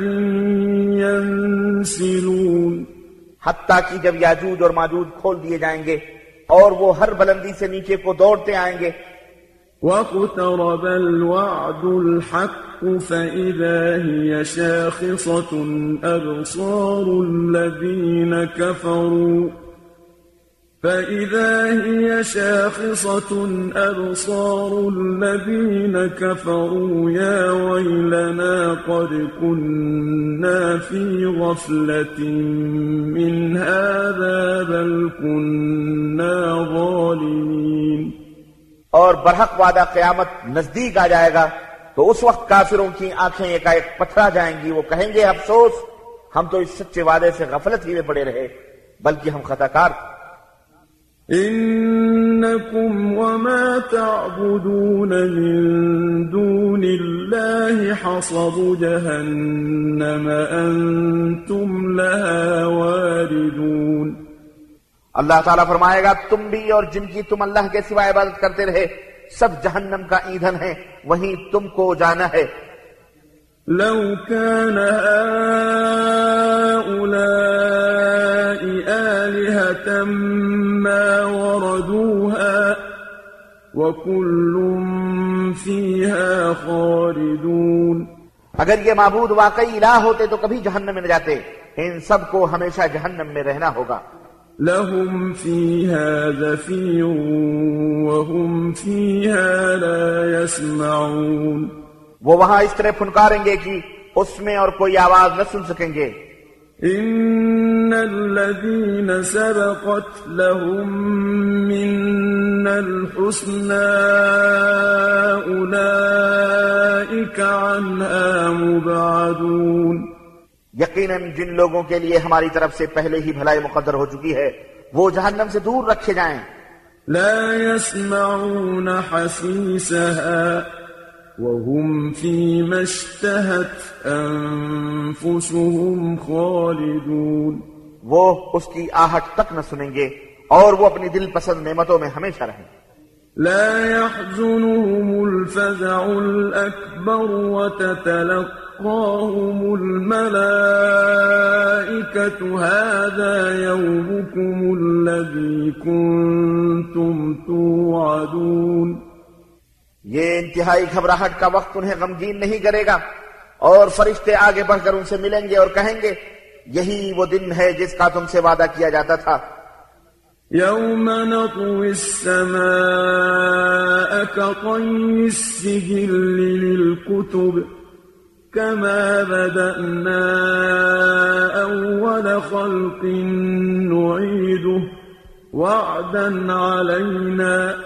Speaker 2: ينسلون.
Speaker 3: حتیٰ کہ جب یاجوج اور ماجوج کھول دیے جائیں گے اور وہ ہر بلندی سے نیچے کو دوڑتے آئیں گے.
Speaker 2: واقترب الوعد الحق فإذا هي شاخصة أبصار الذين كفروا فإذا هي شاخصة أبصار الذين كفروا يا ويلنا قد كنا في غفلة من هذا بل كنا ظالمين.
Speaker 3: اور برحق وعدہ قیامت نزدیک آ جائے گا تو اس وقت کافروں کی آنکھیں ایک پتھرا جائیں گی. وہ کہیں گے افسوس، ہم تو اس سچے وعدے سے غفلت ہی میں پڑے رہے، بلکہ ہم خطا کار تھے.
Speaker 2: إنكم وما تعبدون من دون الله حصب جهنم أنتم لها واردون.
Speaker 3: اللہ تعالیٰ فرمائے گا تم بھی اور جن کی تم اللہ کے سوا عبادت کرتے رہے سب جہنم کا ایندھن ہے، وہیں تم کو جانا ہے.
Speaker 2: لو كان هؤلاء آلهة ما وردوها وكل فيها خالدون.
Speaker 3: اگر یہ معبود واقعی الہ ہوتے تو کبھی جہنم میں نہ جاتے، ان سب کو ہمیشہ جہنم میں رہنا ہوگا.
Speaker 2: لهم فيها زفير وهم فيها لا يسمعون.
Speaker 3: وہ وہاں اس طرح پھنکاریں گے کہ اس میں اور کوئی آواز نہ سن سکیں گے.
Speaker 2: إن الذين سبقت لهم منا الحسنى أولئك عنها مبعدون.
Speaker 3: یقیناً جن لوگوں کے لیے ہماری طرف سے پہلے ہی بھلائی مقدر ہو چکی ہے وہ جہنم سے دور رکھے جائیں.
Speaker 2: لا يسمعون حسيسها وهم فيما اشتهت أنفسهم خالدون.
Speaker 3: وہ اس کی آہٹ تک نہ سنیں گے اور وہ اپنی دل پسند نعمتوں میں ہمیشہ رہیں.
Speaker 2: لا يحزنهم الفزع الأكبر وتتلقاهم الملائكة هذا يومكم الذي كنتم توعدون.
Speaker 3: یہ انتہائی گھبراہٹ کا وقت انہیں غمگین نہیں کرے گا، اور فرشتے آگے بڑھ کر ان سے ملیں گے اور کہیں گے یہی وہ دن ہے جس کا تم سے وعدہ کیا جاتا تھا.
Speaker 2: يوم نطوي السماء كطي السجل للكتب كما بدأنا أول خلق نعيده وعدا علينا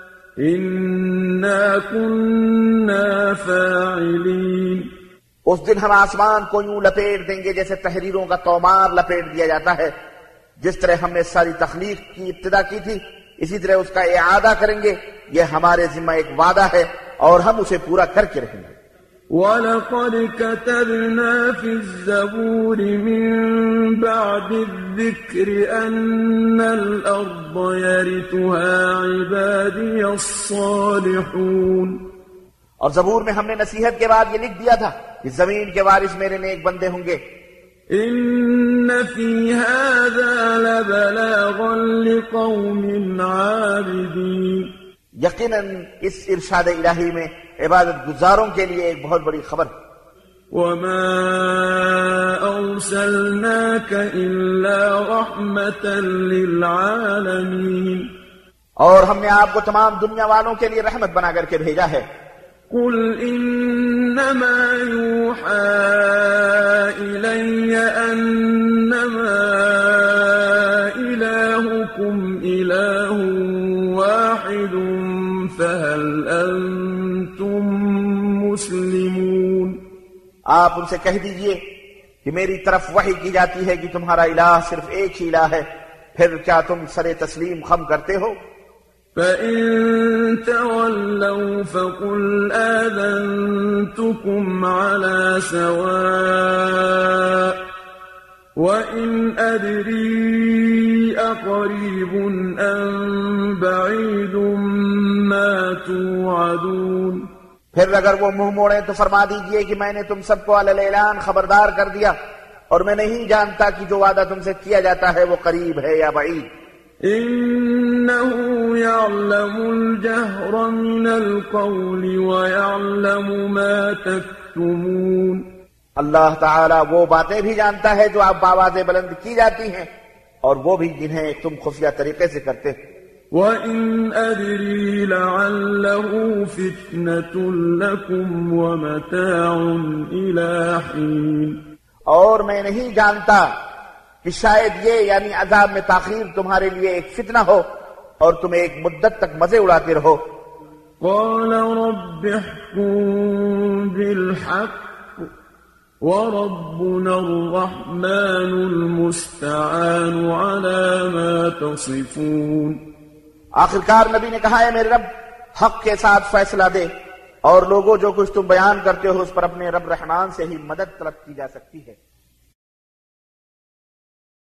Speaker 2: إنا كنا فاعلين.
Speaker 3: اس دن ہم آسمان کو یوں لپیٹ دیں گے جیسے تحریروں کا تومار لپیٹ دیا جاتا ہے. جس طرح ہم نے ساری تخلیق کی ابتدا کی تھی اسی طرح اس کا اعادہ کریں گے. یہ ہمارے ذمہ ایک وعدہ ہے اور ہم اسے پورا کر کے رہیں گے.
Speaker 2: وَلَقَدْ كَتَبْنَا فِي الزَّبُورِ مِن بَعْدِ الذِّكْرِ أَنَّ الْأَرْضَ يَرِثُهَا عِبَادِيَ الصَّالِحُونَ.
Speaker 3: اور زبور میں ہم نے نصیحت کے بعد یہ لکھ دیا تھا کہ زمین کے وارث میرے نیک بندے ہوں گے.
Speaker 2: إِنَّ فِي هَذَا لَبَلَاغًا لِقَوْمٍ عَابِدِينَ.
Speaker 3: یقیناً اس ارشاد الہی میں عبادت گزاروں کے لیے ایک بہت بڑی خبر.
Speaker 2: وَمَا أَرْسَلْنَاكَ إِلَّا رَحْمَةً لِلْعَالَمِينَ.
Speaker 3: اور ہم نے آپ کو تمام دنیا والوں کے لیے رحمت بنا کر کے بھیجا ہے.
Speaker 2: قُلْ إِنَّمَا يُوحَى إِلَيَّ أَنَّمَا إِلَٰهُكُمْ إِلَٰهٌ وَاحِدٌ فَهَلْ أَنتُم مُّسْلِمُونَ.
Speaker 3: آپ ان سے کہہ دیجئے کہ میری طرف وحی کی جاتی ہے کہ تمہارا الہ صرف ایک ہی الہ ہے، پھر کیا تم سر تسلیم خم کرتے ہو؟
Speaker 2: فَإِن تَوَلَّوْا فَقُلْ آذَنتُكُمْ عَلَىٰ سَوَاءٍ وَإِنْ أَدْرِي أَقَرِيبٌ أَمْ بَعِيدٌ مَا تُوعَدُونَ.
Speaker 3: پھر اگر وہ منہ موڑیں تو فرما دیجئے کہ میں نے تم سب کو علی الاعلان خبردار کر دیا اور میں نہیں جانتا کہ جو وعدہ تم سے کیا جاتا ہے وہ قریب ہے یا بعید.
Speaker 2: إِنَّهُ يَعْلَمُ الْجَهْرَ مِنَ الْقَوْلِ وَيَعْلَمُ مَا تَكْتُمُونَ.
Speaker 3: اللہ تعالیٰ وہ باتیں بھی جانتا ہے جو آپ بآواز بلند کی جاتی ہیں اور وہ بھی جنہیں تم خفیہ طریقے سے کرتے ہو.
Speaker 2: وَإِنْ أَدْرِي لَعَلَّهُ فِتْنَةٌ لَكُمْ وَمَتَاعٌ إِلَى حِينٍ.
Speaker 3: اور میں نہیں جانتا کہ شاید یہ یعنی عذاب میں تاخیر تمہارے لیے ایک فتنہ ہو اور تم ایک مدت تک مزے اڑاتے رہو.
Speaker 2: قَالَ رَبِّ احْكُم بِالْحَقِّ وَرَبُّنَا الرَّحْمَنُ الْمُسْتَعَانُ عَلَى مَا تَصِفُونَ.
Speaker 3: آخرکار نبی نے کہا ہے میرے رب حق کے ساتھ فیصلہ دے، اور لوگوں جو کچھ تم بیان کرتے ہو اس پر اپنے رب رحمان سے ہی مدد طلب کی جا سکتی ہے.